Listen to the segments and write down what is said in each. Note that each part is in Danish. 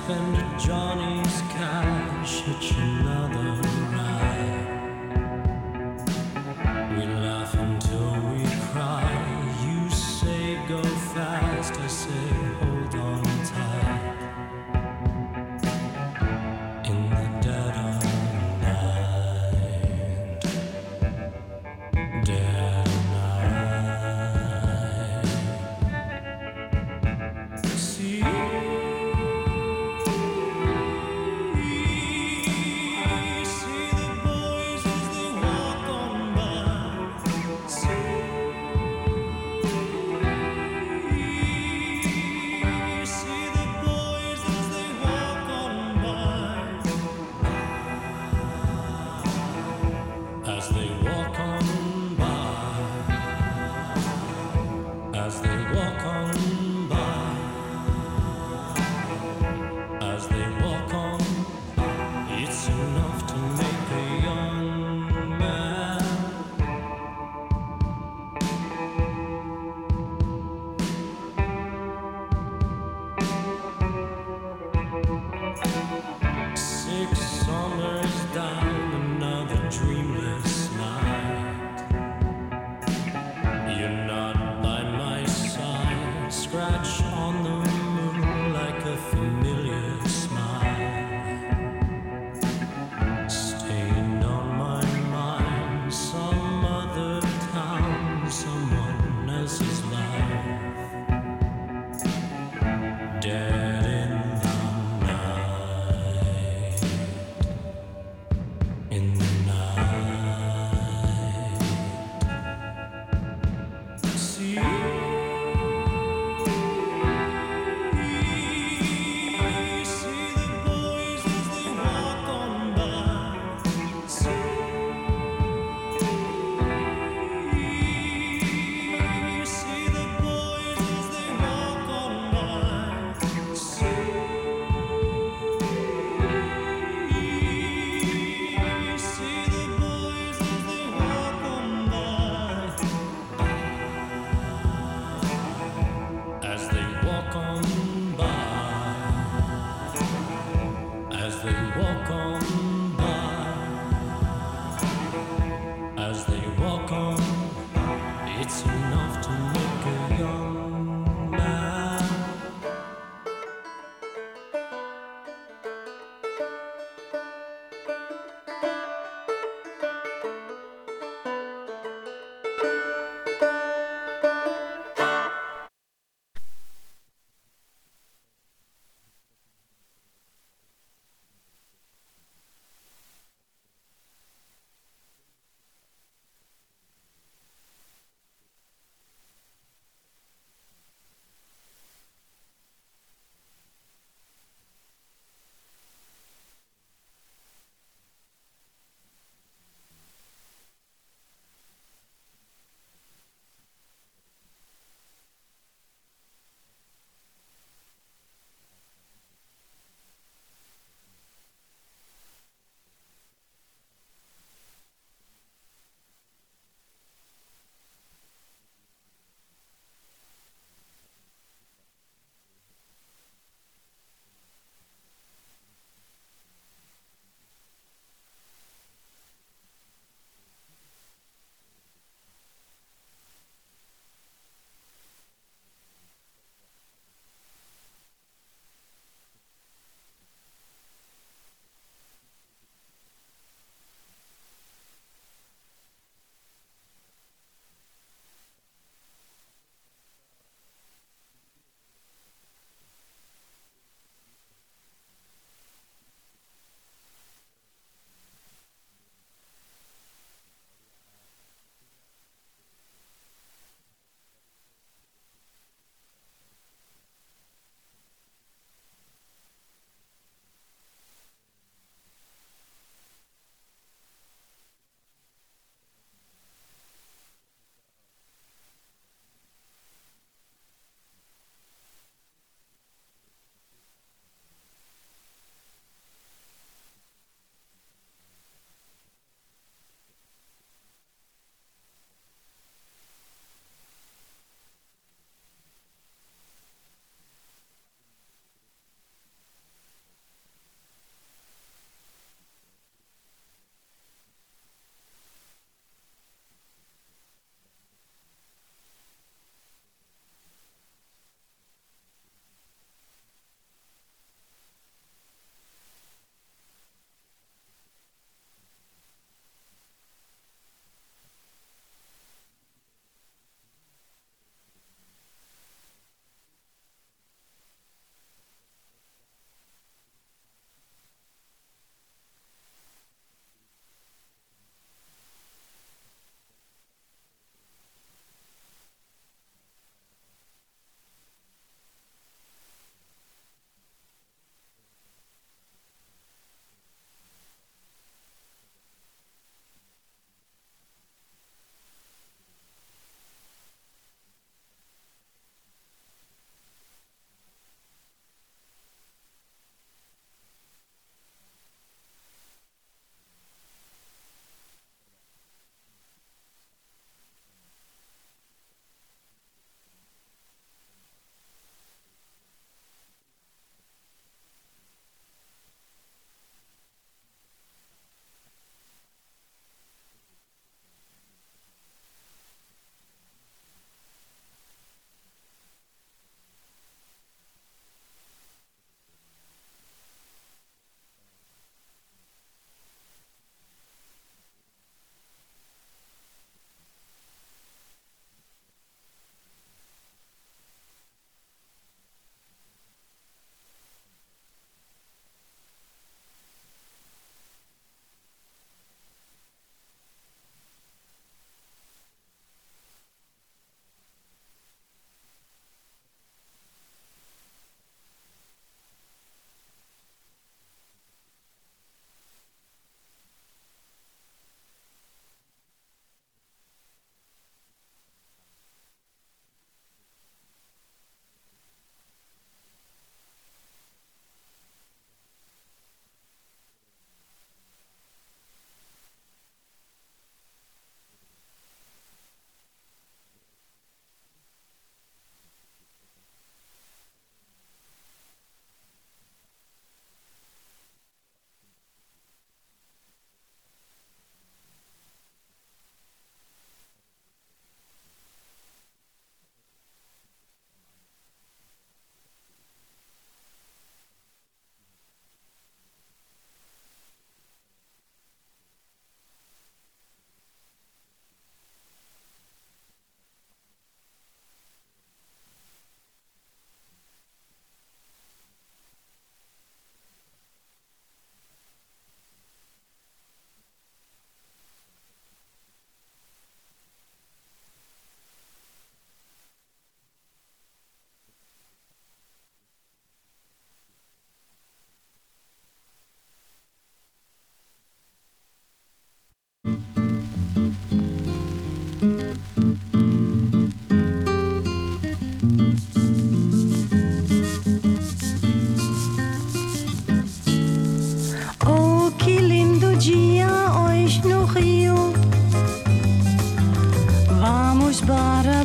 spend Johnny's cash, hitch another ride. We laugh until we cry. You say go fast, I say hold on tight. In the dead of night, dead night. See.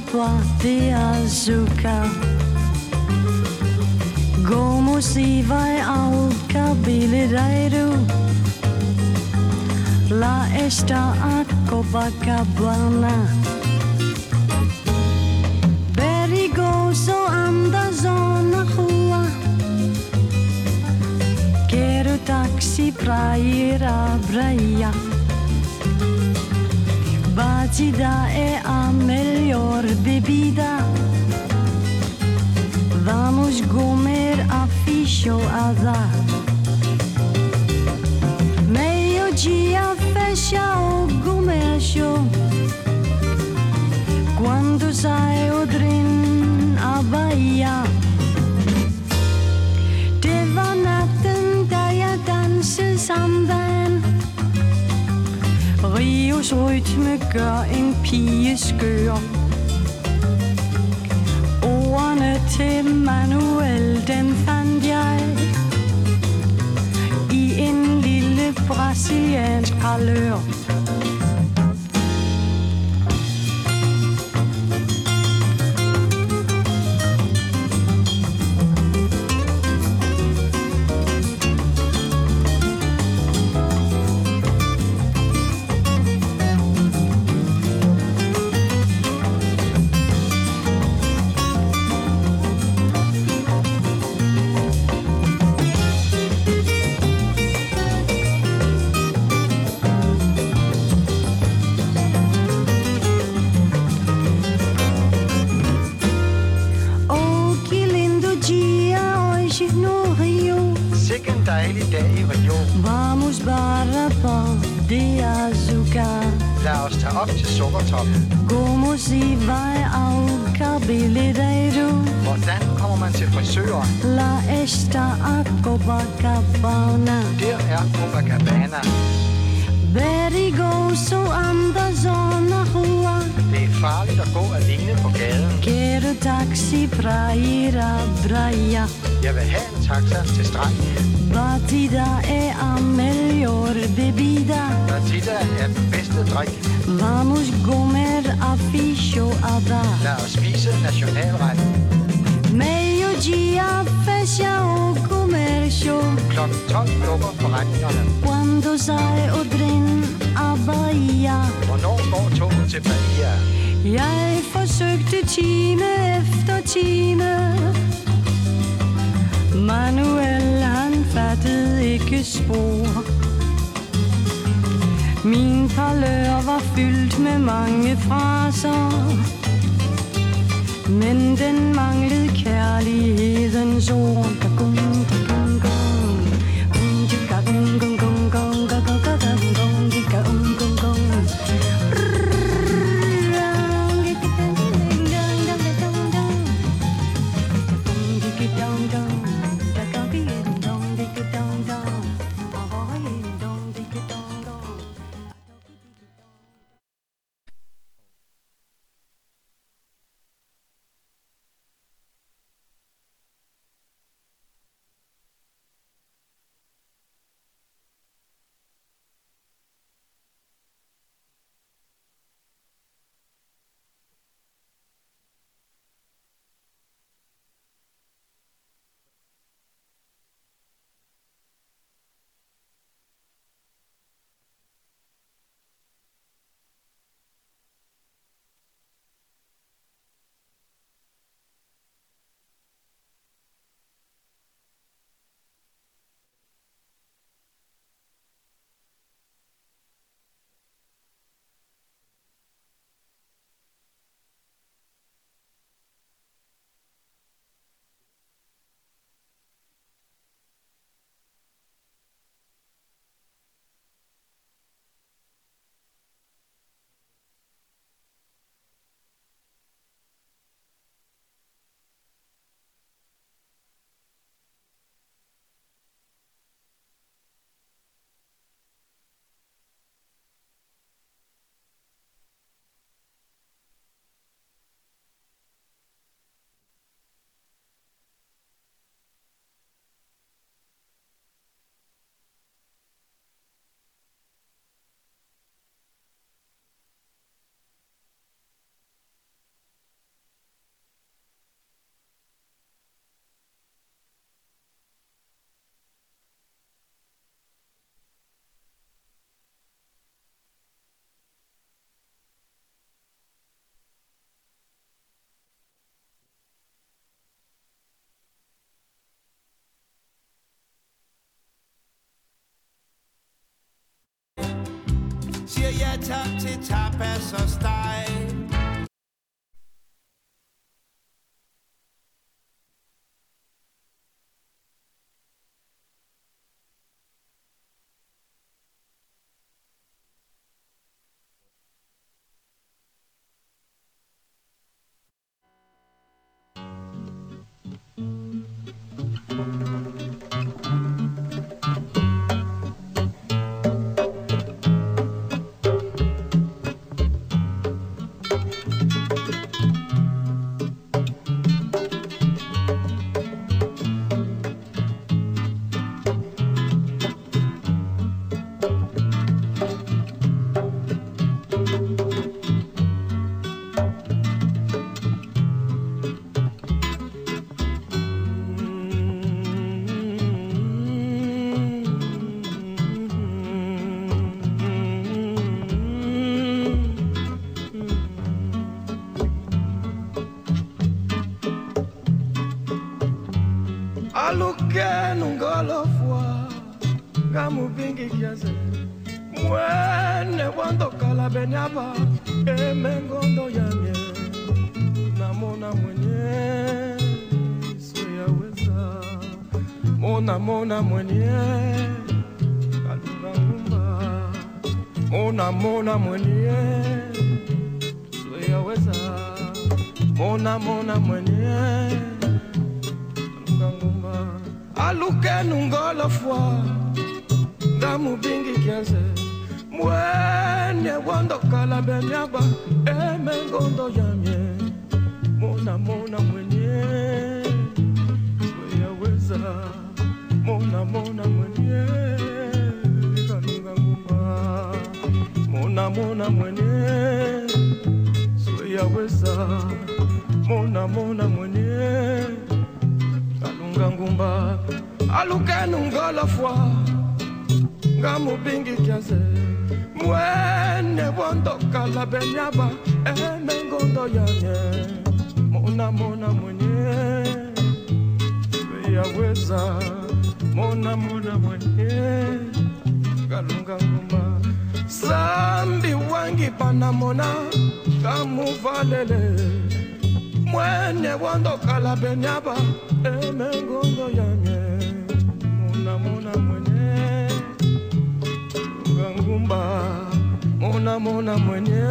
Papa de azúcar. Como si vai ao cabeleireiro. Lá está a Copacabana. Perigoso andas na rua. Quero táxi pra ir à praia. Batida é a melhor bebida. Vamos comer a feijoada. Meio-dia fecha o comércio. Quando sai o trem à Bahia. Det var natten da jeg dansede samban. Rios rytme gør en pige skør. Ordene til Manuel, dem fandt jeg i en lille brasiliansk parlør. Vamos para de azúcar. Lad os tage op til Sukkertop. Como si vai ao cabeleireiro. Hvordan kommer man til frisøren? La esta a Copacabana. Der er Copacabana. Perigoso andas na rua. Det er farligt at gå alene på gaden. Quero táxi pra ir à praia. Jeg vil have en taxa til stranden. Batida é a melhor bebida. Batida er den bedste drik. Vamos comer a feijoada. Lad os spise nationalretten. Meio-dia fecha o comércio. Klokken 12 lukker forretningerne. Quando sai o trem à Bahia. Hvornår går toget til Bahia? Jeg forsøgte time efter time. Manuel, han fattede ikke spor. Min parlør var fyldt med mange fraser, men den manglede kærlighedens ord. jeg tager til tapas og steg. Aluke nungolo fwa Gamu bingi kiaze Mwene wando kala benyaba Emengondo yamye Namona mwenye Suya weza Mona mwenye Kalunga ngumba Mona mwenye Suya weza Mona mwenye Aluke nungolo fwa Gamu bingi kiaze Mwene wando kala benyaba Emengondo yamye Mona mwenye Swea weza Mona mwenye Kalunga ngumba Mona mwenye Swea weza Mona mwenye Ngumba aluke nungolo fwa Gamu bingi kiaze Mwene wondo kala benyaba Emengondo yanye Mona mwenye Swea weza Mona mwenye Kalunga ngumba Sambi wangi panamona Gamu valele Mwene wondo kala benyaba Emengondo yanye Mona mwenye Ngumba Mona mwenye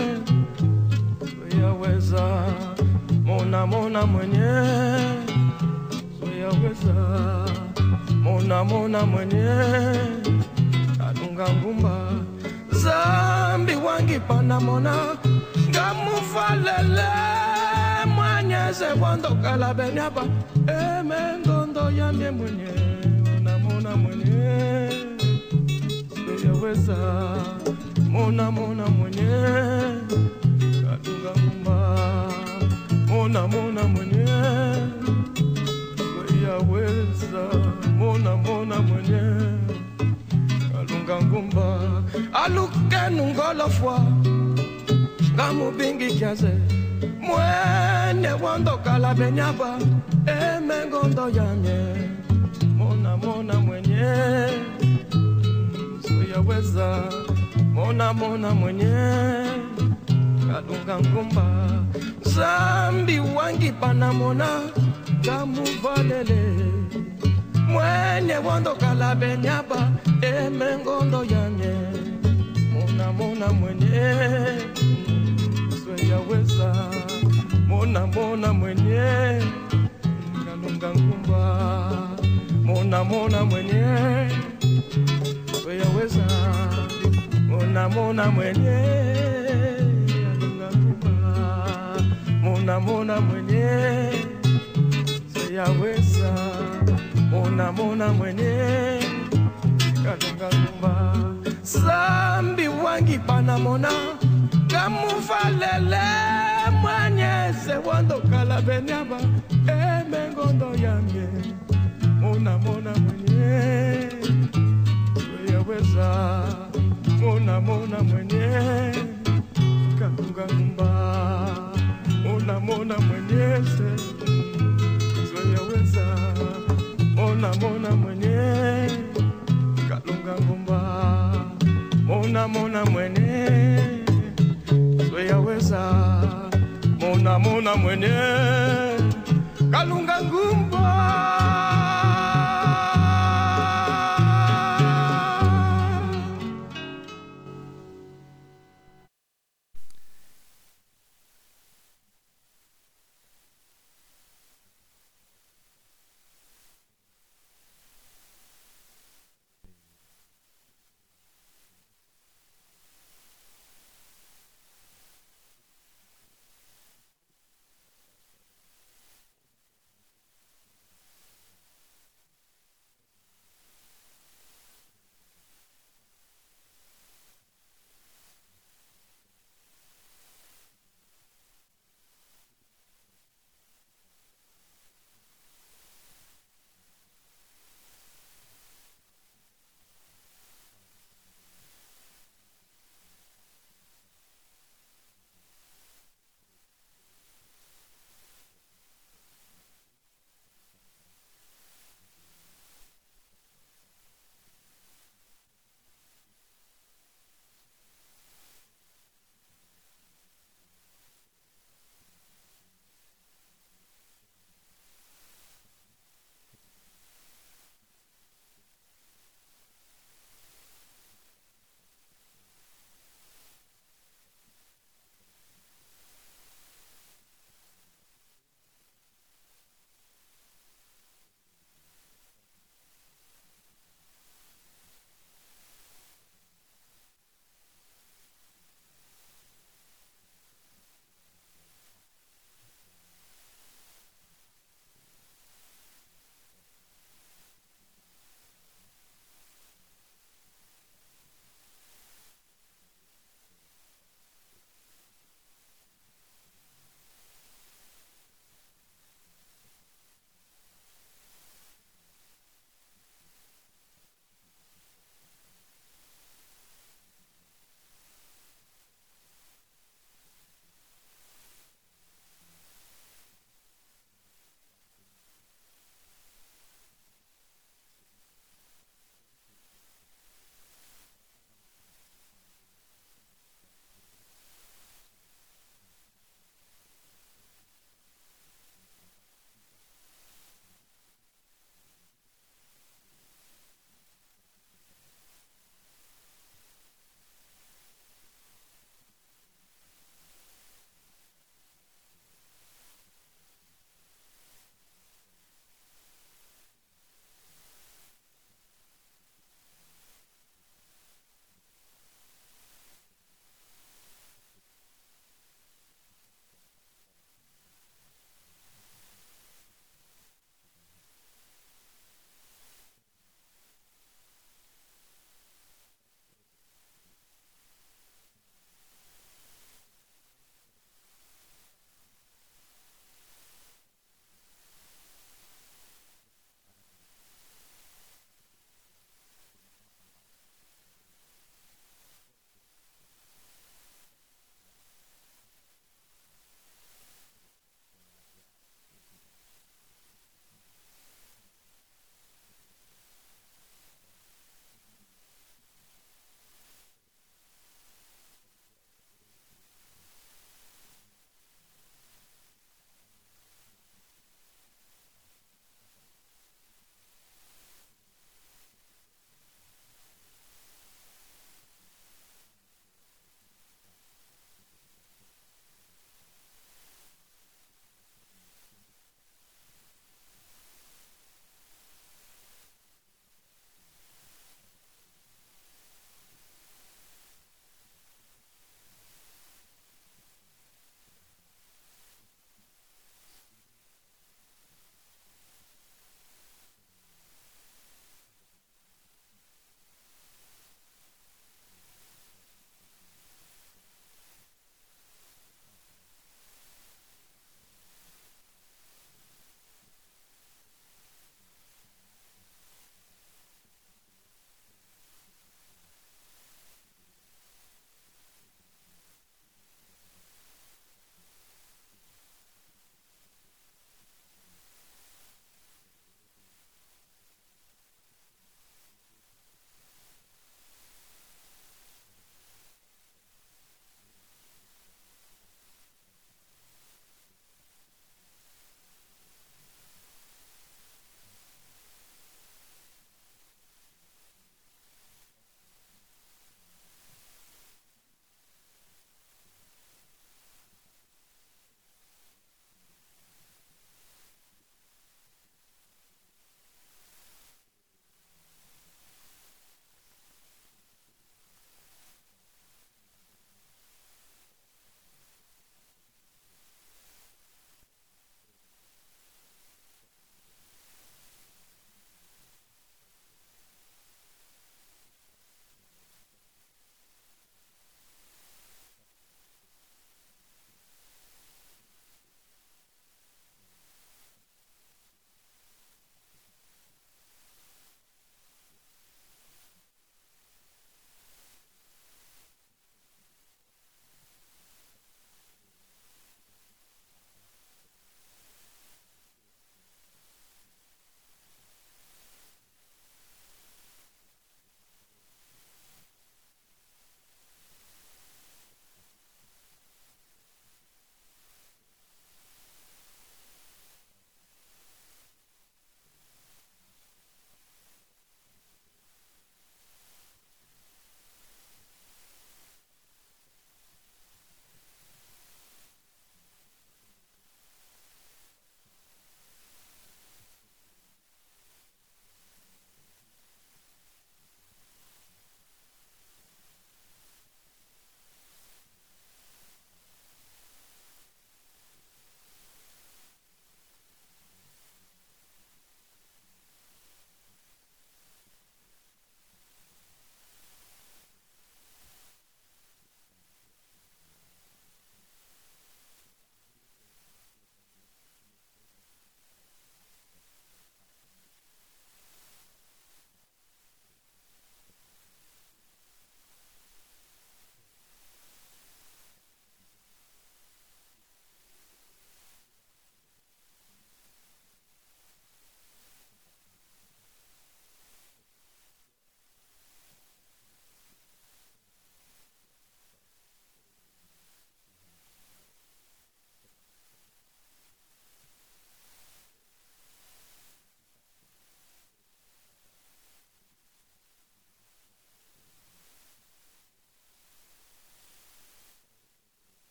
Swea weza Mona mwenye Swea weza Mona mwenye Kalunga ngumba Zambi wangi panamona Ngamufalele Mwanyeze wando kala benyaba Emengondo yamye mwenye Mona mwenye Swea weza Mona mwenye Kalunga ngumba Mona mwenye Swea weza Mona mwenye Kalunga ngumba Aluke nungolo fwa Gamu bingi kiaze Mwene wando kala benyaba Emengondo yamye Mona mwenye Swea weza Mona mwenye Kalunga ngumba Zambi wangi panamona Gamu valele Mwene wando kala benyaba Emengondo yamye Mona mwenye Swea weza Mona mwenye Kalunga ngumba Mona mwenye Swea weza Mona mwenye Kalunga ngumba Mona mwenye Swea weza Mona mwenye Kalunga ngumba Zambi wangi panamona Kamufalele Mwanyeze wando kala benyaba Emengondo yamye Mona mwenye Swea weza Mona mwenye Kalunga ngumba Mona mwenye Swea weza Mona mwenye Kalunga ngumba Mona mwenye yaweza mona mwenye kalunga ngumba.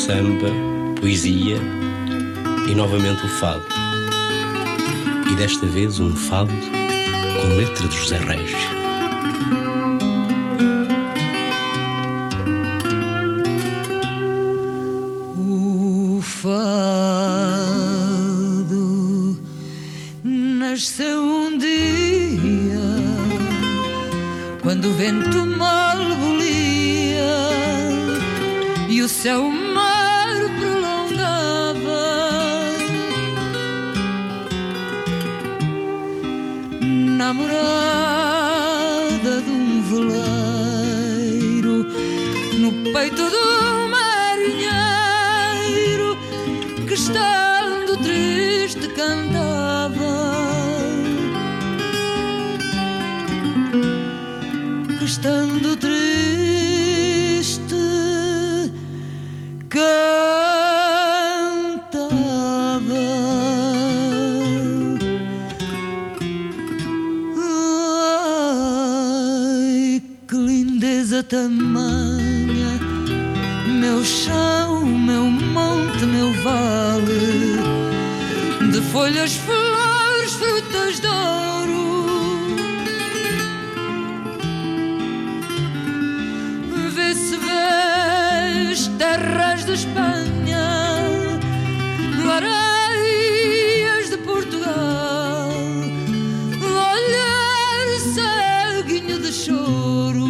samba, poesia e novamente o fado. E desta vez um fado com letra de José Régio. Nasceu um dia quando o vento mal bolia e o céu mar prolongava. Namorada de um veleiro no peito do marinheiro que estando triste cantava. Estando triste, cantava. Ai, que lindeza tamanha, meu chão, meu monte, meu vale, de folhas, flores, frutas de ouro. Terras de Espanha, areias de Portugal, olhar ceguinho de choro.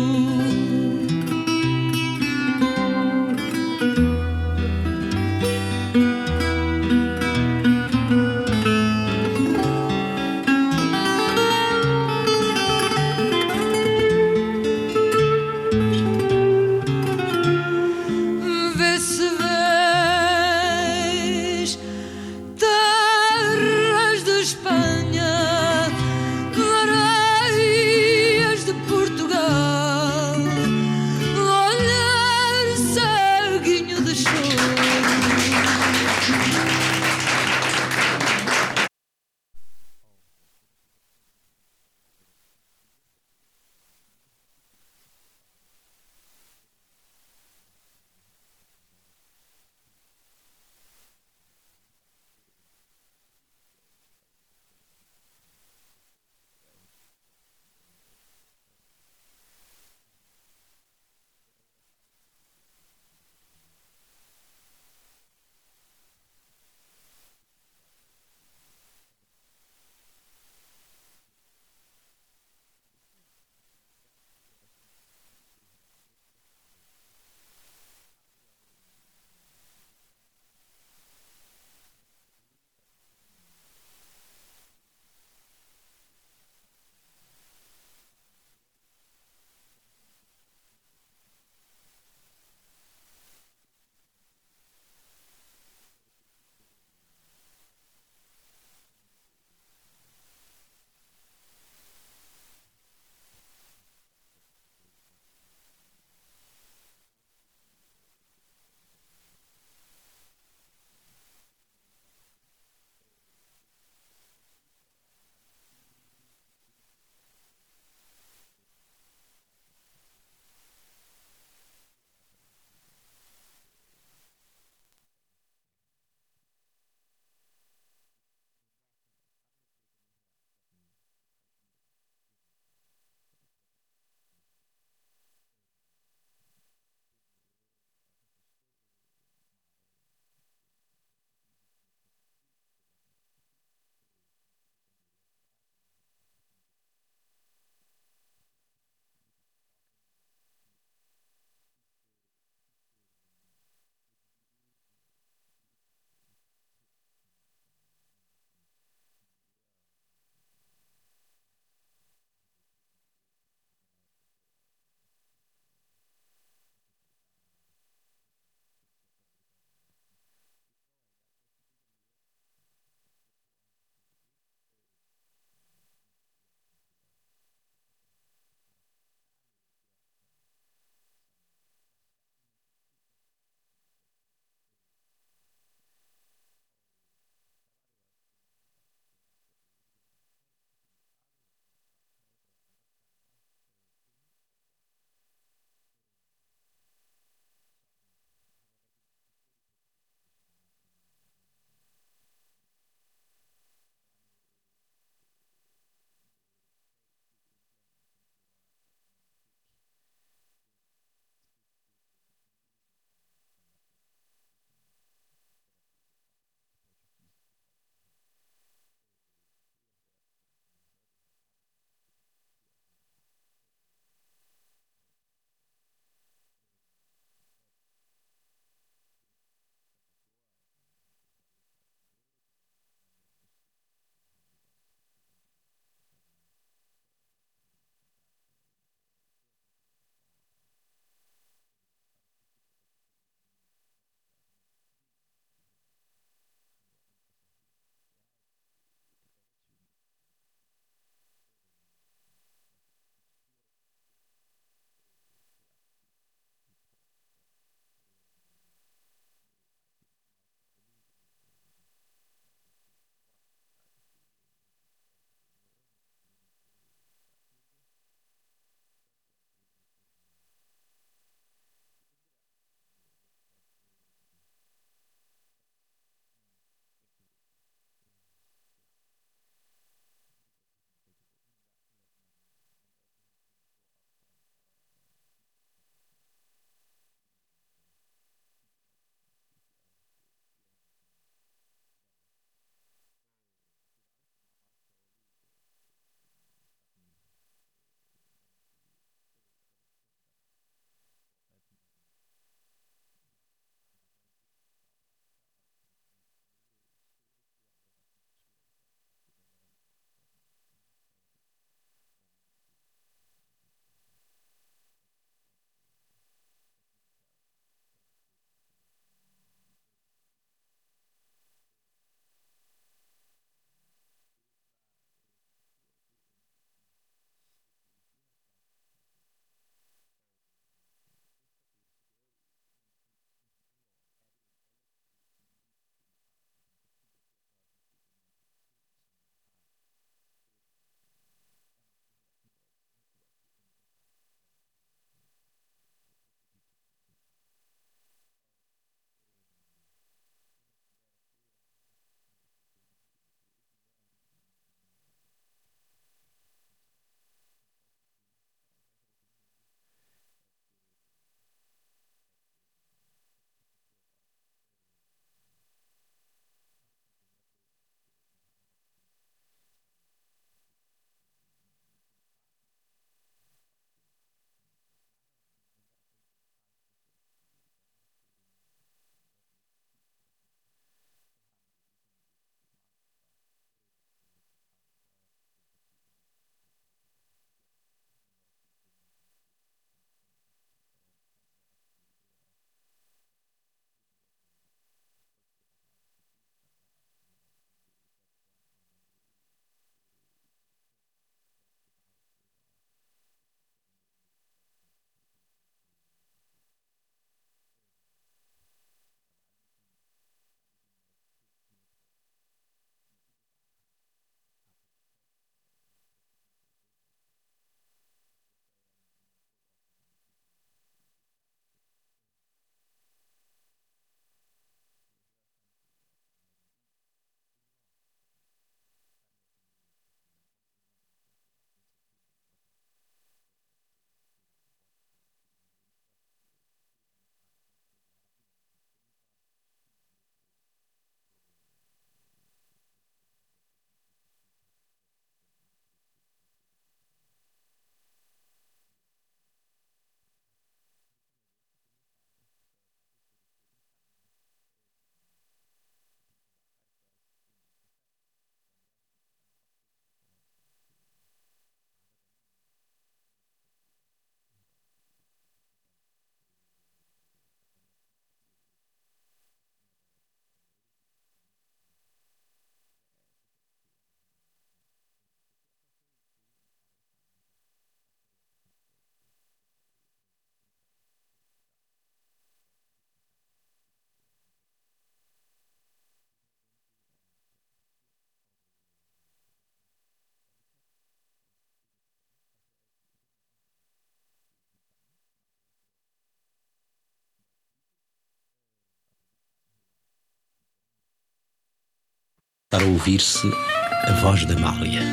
Para ouvir-se a voz da Amália.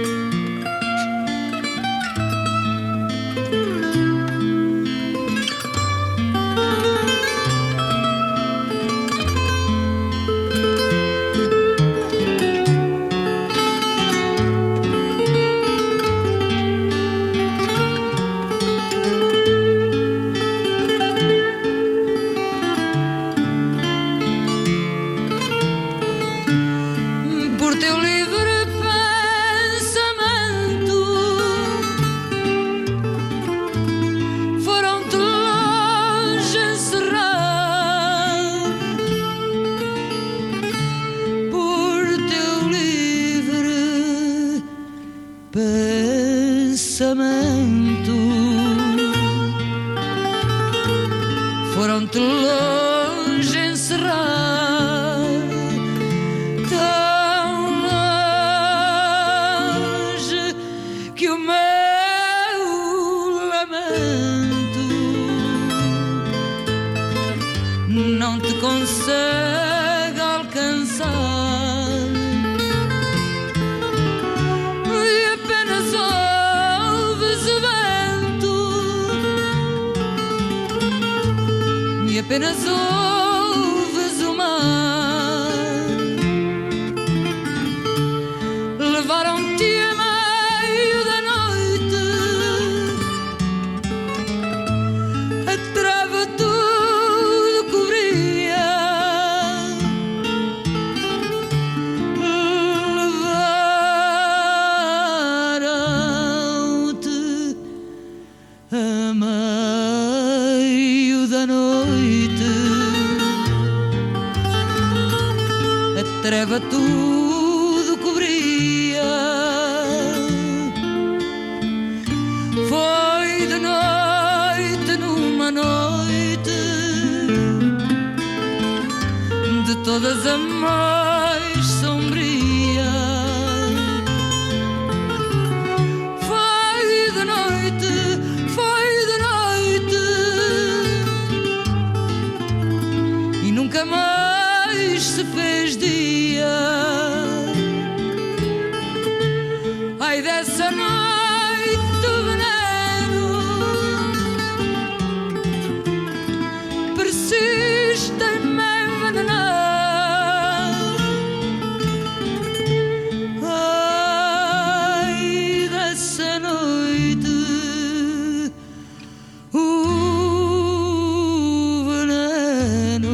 Foram-te longe encerrar, tão longe que o meu lamento não te consegue alcançar. E apenas ouves o vento, e apenas ouves o mar. Levaram-te a meio da noite, a treva tudo cobria. Levaram-te a meio da noite, a treva tudo cobria. Foi de noite, numa noite de todas a mais sombria. Foi de noite, e nunca mais se fez dia. Ai, dessa noite o veneno persiste em me envenenar. Ai, dessa noite o veneno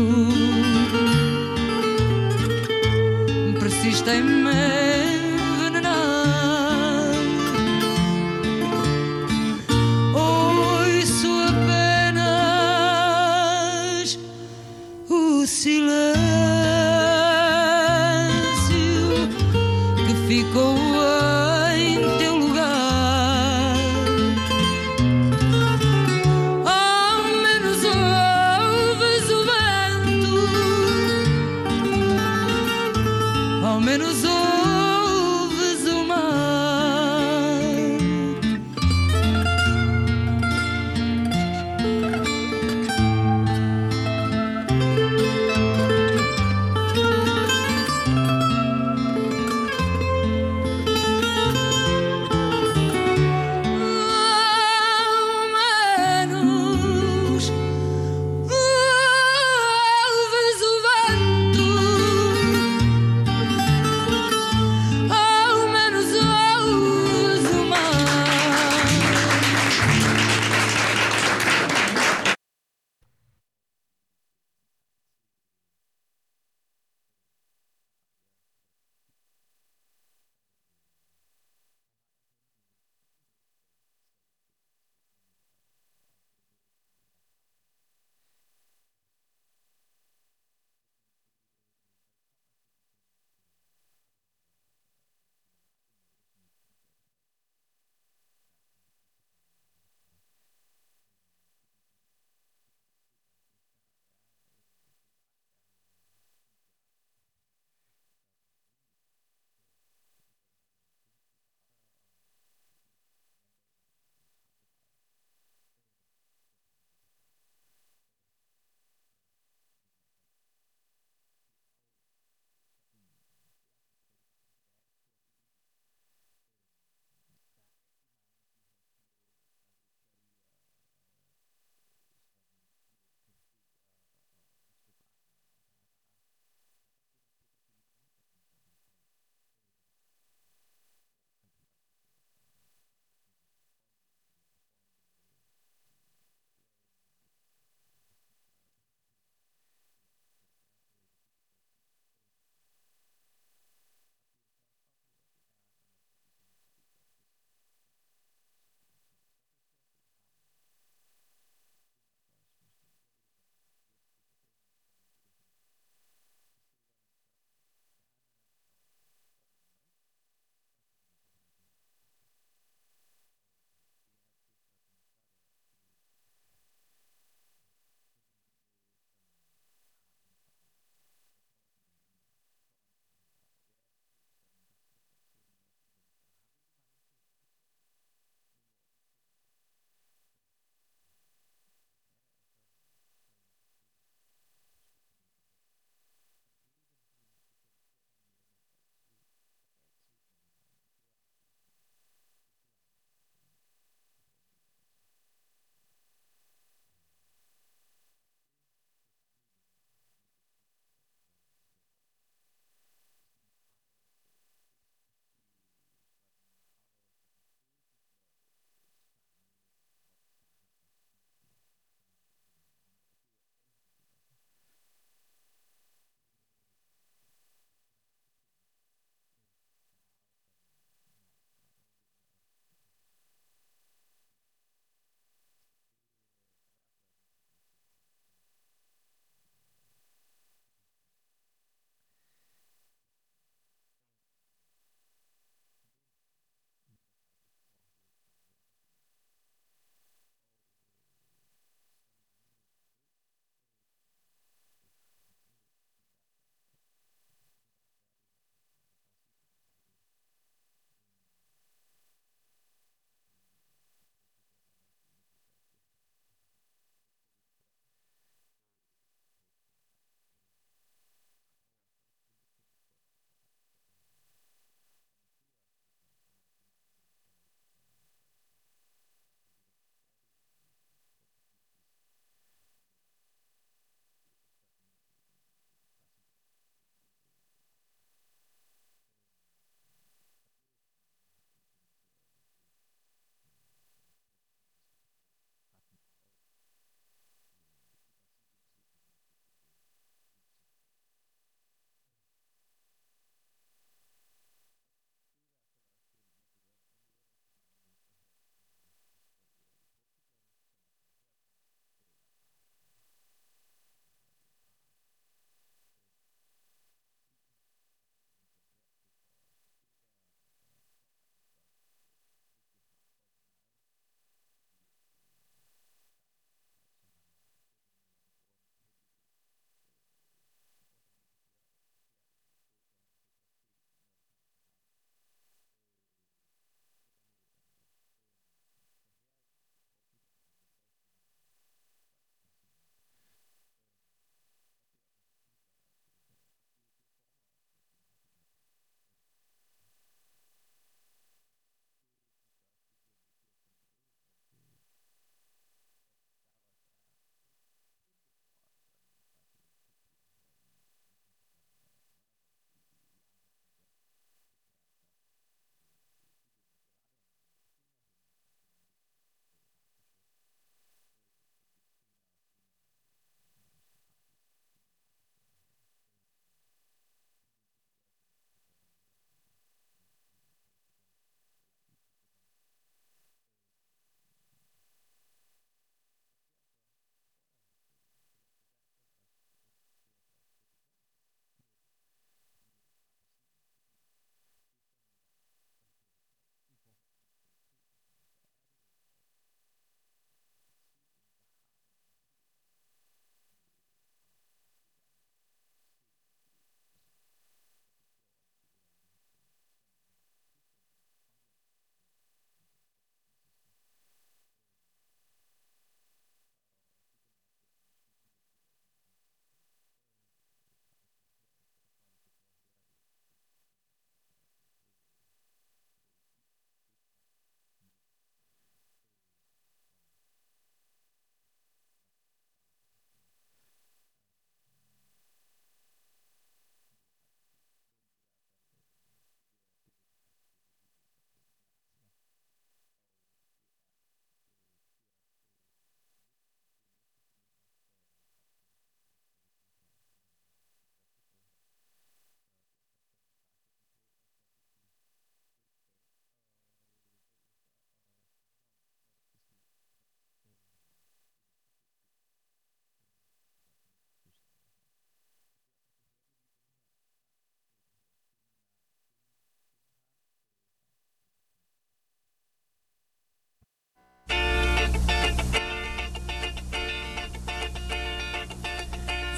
persiste em me envenenar. Ouço apenas o silêncio que ficou em teu lugar. Ao menos ouves o vento, ao menos ouves o mar. Ao menos ouves o vento,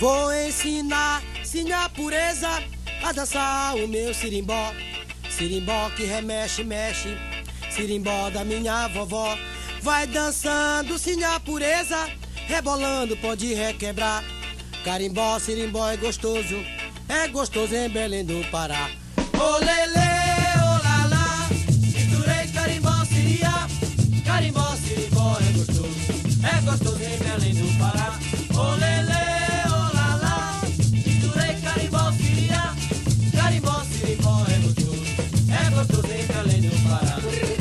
Vou ensinar, sinha pureza, a dançar o meu sirimbó. Sirimbó que remexe, mexe, sirimbó da minha vovó. Vai dançando, sinha pureza, rebolando pode requebrar. Carimbó, sirimbó é gostoso em Belém do Pará. Ô lelê, ô lalá, misturei carimbó, siria. Carimbó, sirimbó é gostoso em Belém do Pará. Ô lelê, ô lalá, misturei carimbó, siria. Carimbó, sirimbó é gostoso em Belém do Pará.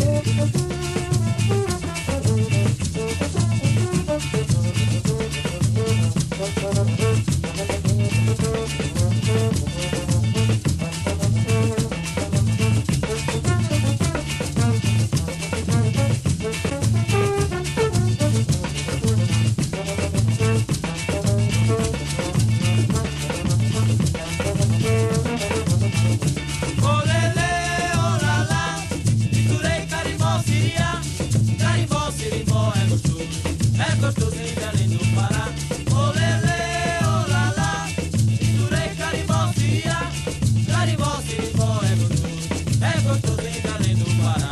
Gostoso em Belém do Pará. Ô lelê, ô lalá, misturei carimbó, siria. Carimbó, sirimbó é gostoso em Belém do Pará.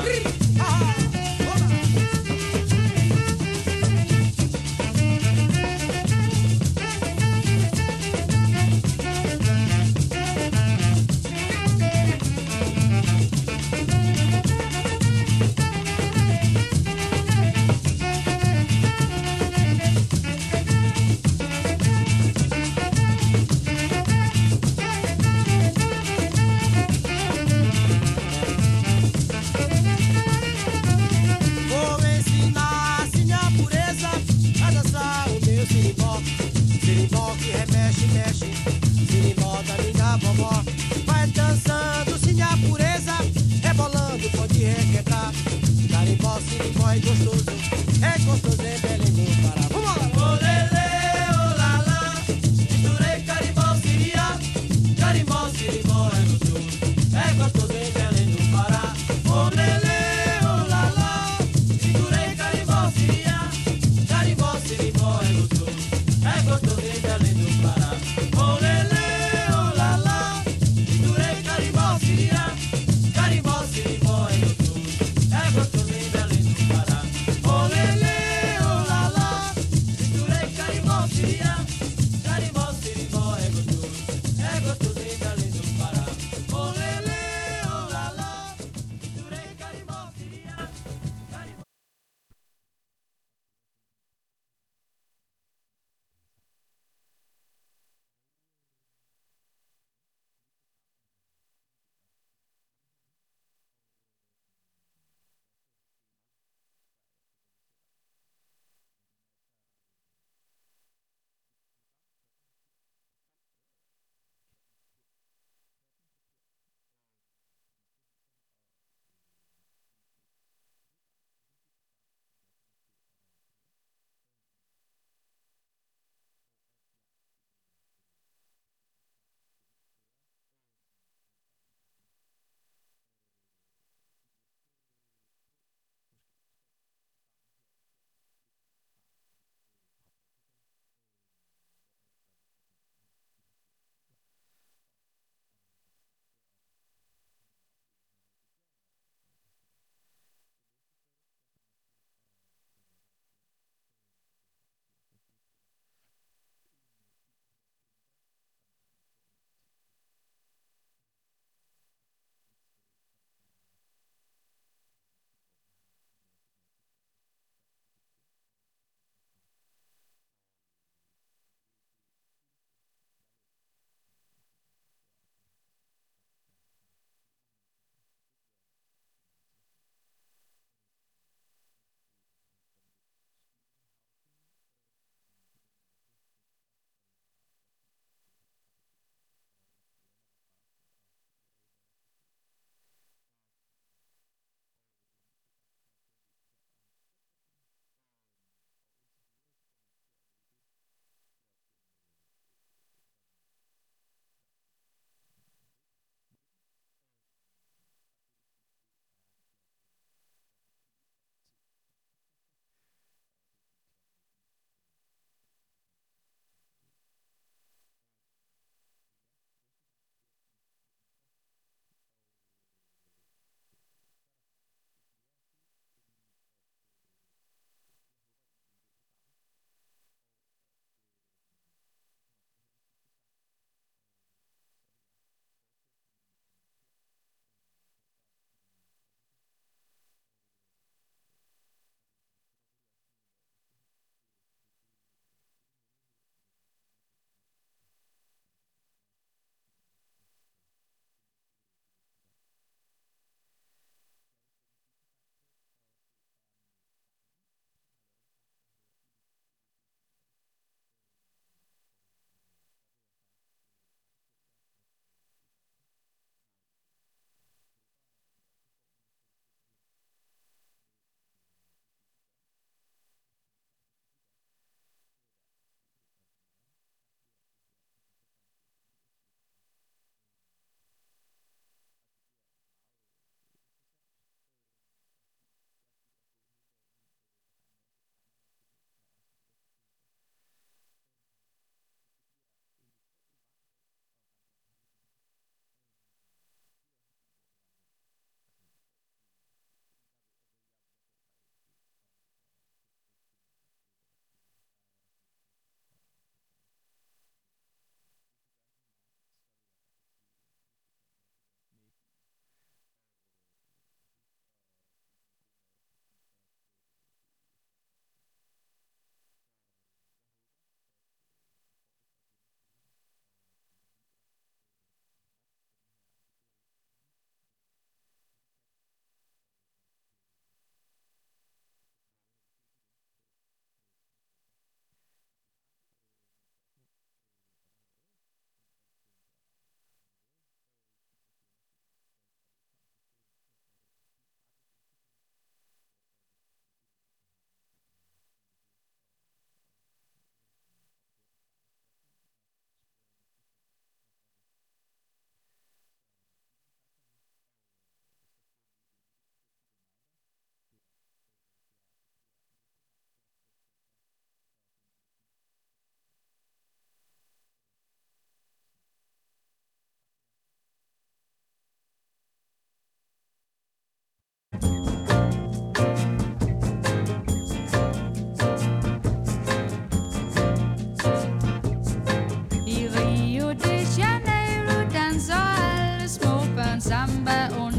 Sirimbó que remexe, mexe, sirimbó da minha vovó. Vai dançando, sinha pureza, rebolando, pode requebrar. Carimbó, sirimbó é gostoso em Belém do Pará. Vamos lá! Ô lelê, ô lalá, misturei carimbó, siria. Carimbó, sirimbó é gostoso em Belém do Pará. Ô lelê, ô lalá, misturei carimbó, siria. Carimbó, sirimbó é gostoso em Belém do Pará. Ô lelê, ô lalá, misturei carimbó, siria. Carimbó, sirimbó é gostoso em Belém do Pará. Ô lelê, ô lalá, misturei carimbó, siria. Carimbó, sirimbó é gostoso em Belém do Pará. Ô lelê, ô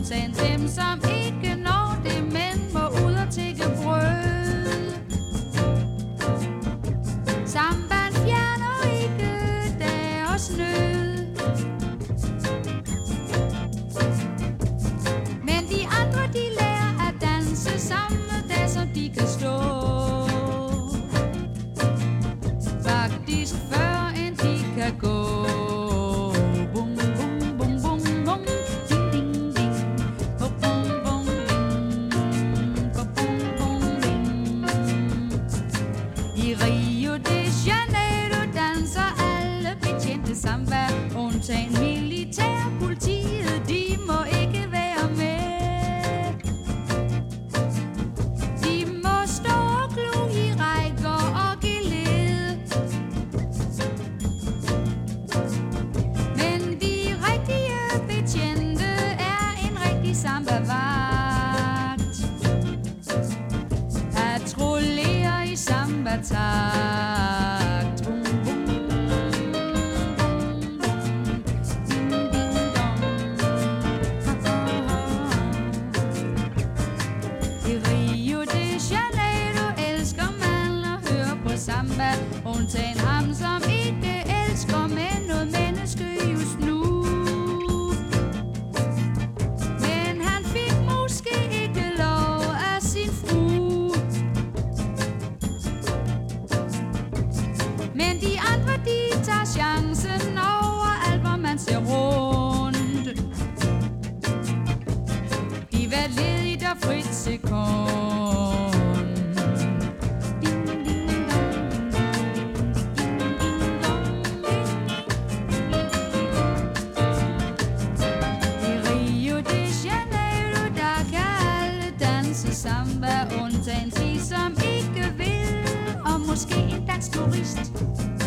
undtagen dem, som ikke når det, men må ud og tigge brød. Sambaen fjerner ikke deres nød, men de andre, de lærer at danse samme dag, som de kan stå. Faktisk før end de kan gå. Bum, bum, bum, bum, bum. Ding, ding, ding. Bum, bum, bum, ding. Bum, bum, bum, ding. I Rio de Janeiro danser alle betjente samba, undtagen militærpolitiet, de må ikke være med. De må stå og glo i rækker og gelede, men de rigtige betjente er en rigtig samba-vagt. Patruljerer i samba-takt. Bum, bum, bum, bum. Ding, ding, dong. I Rio de Janeiro elsker man at høre på samba, undtagen ham, som ikke elsker med noget menneske just nu. Men han fik måske ikke lov af sin frue. Men de andre, de tager chancen overalt, hvor man ser rundt. I hvert ledigt og frit sekund. Ding, ding, dong, ding, ding, ding, dong, ding. I Rio de Janeiro, der kan alle danse samba, undtagen de, som ikke vil, og måske en dansk turist.